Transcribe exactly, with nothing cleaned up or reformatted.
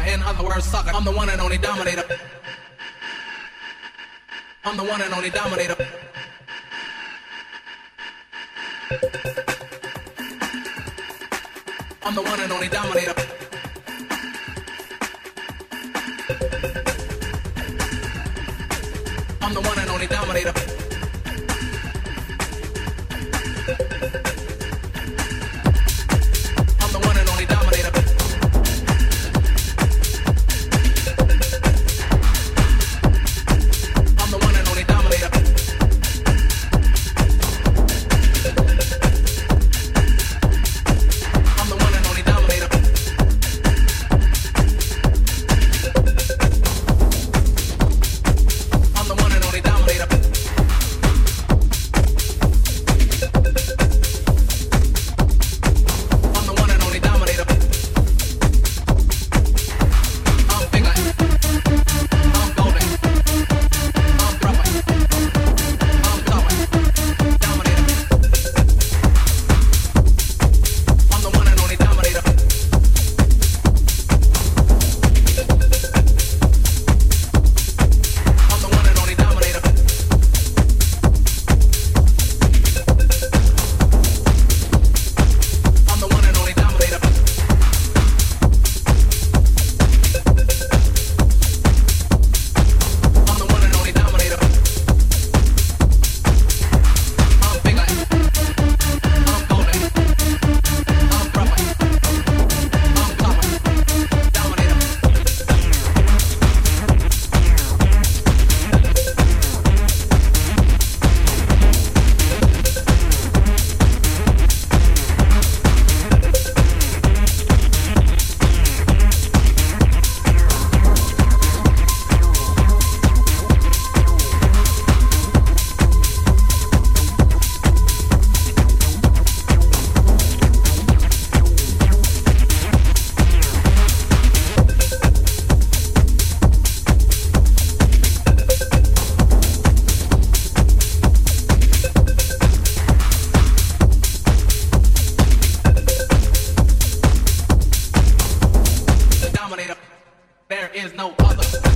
in other words, sucker. I'm the one and only dominator. I'm the one and only dominator. I'm the one and only dominator. I'm the one and only dominator. I'm the one and only dominator. I'm the one and only dominator. I'm the one and only dominator. I'm the one and only dominator. I'm the one and only dominator. I'm big like, I'm golden, I'm proper, I'm going, dominator. I'm the one and only dominator. I'm the one and only dominator. I'm the one and only dominator. I'm the one and only dominator. I'm big like, I'm golden, I'm proper, I'm copper, dominator. Dominator. There is no other.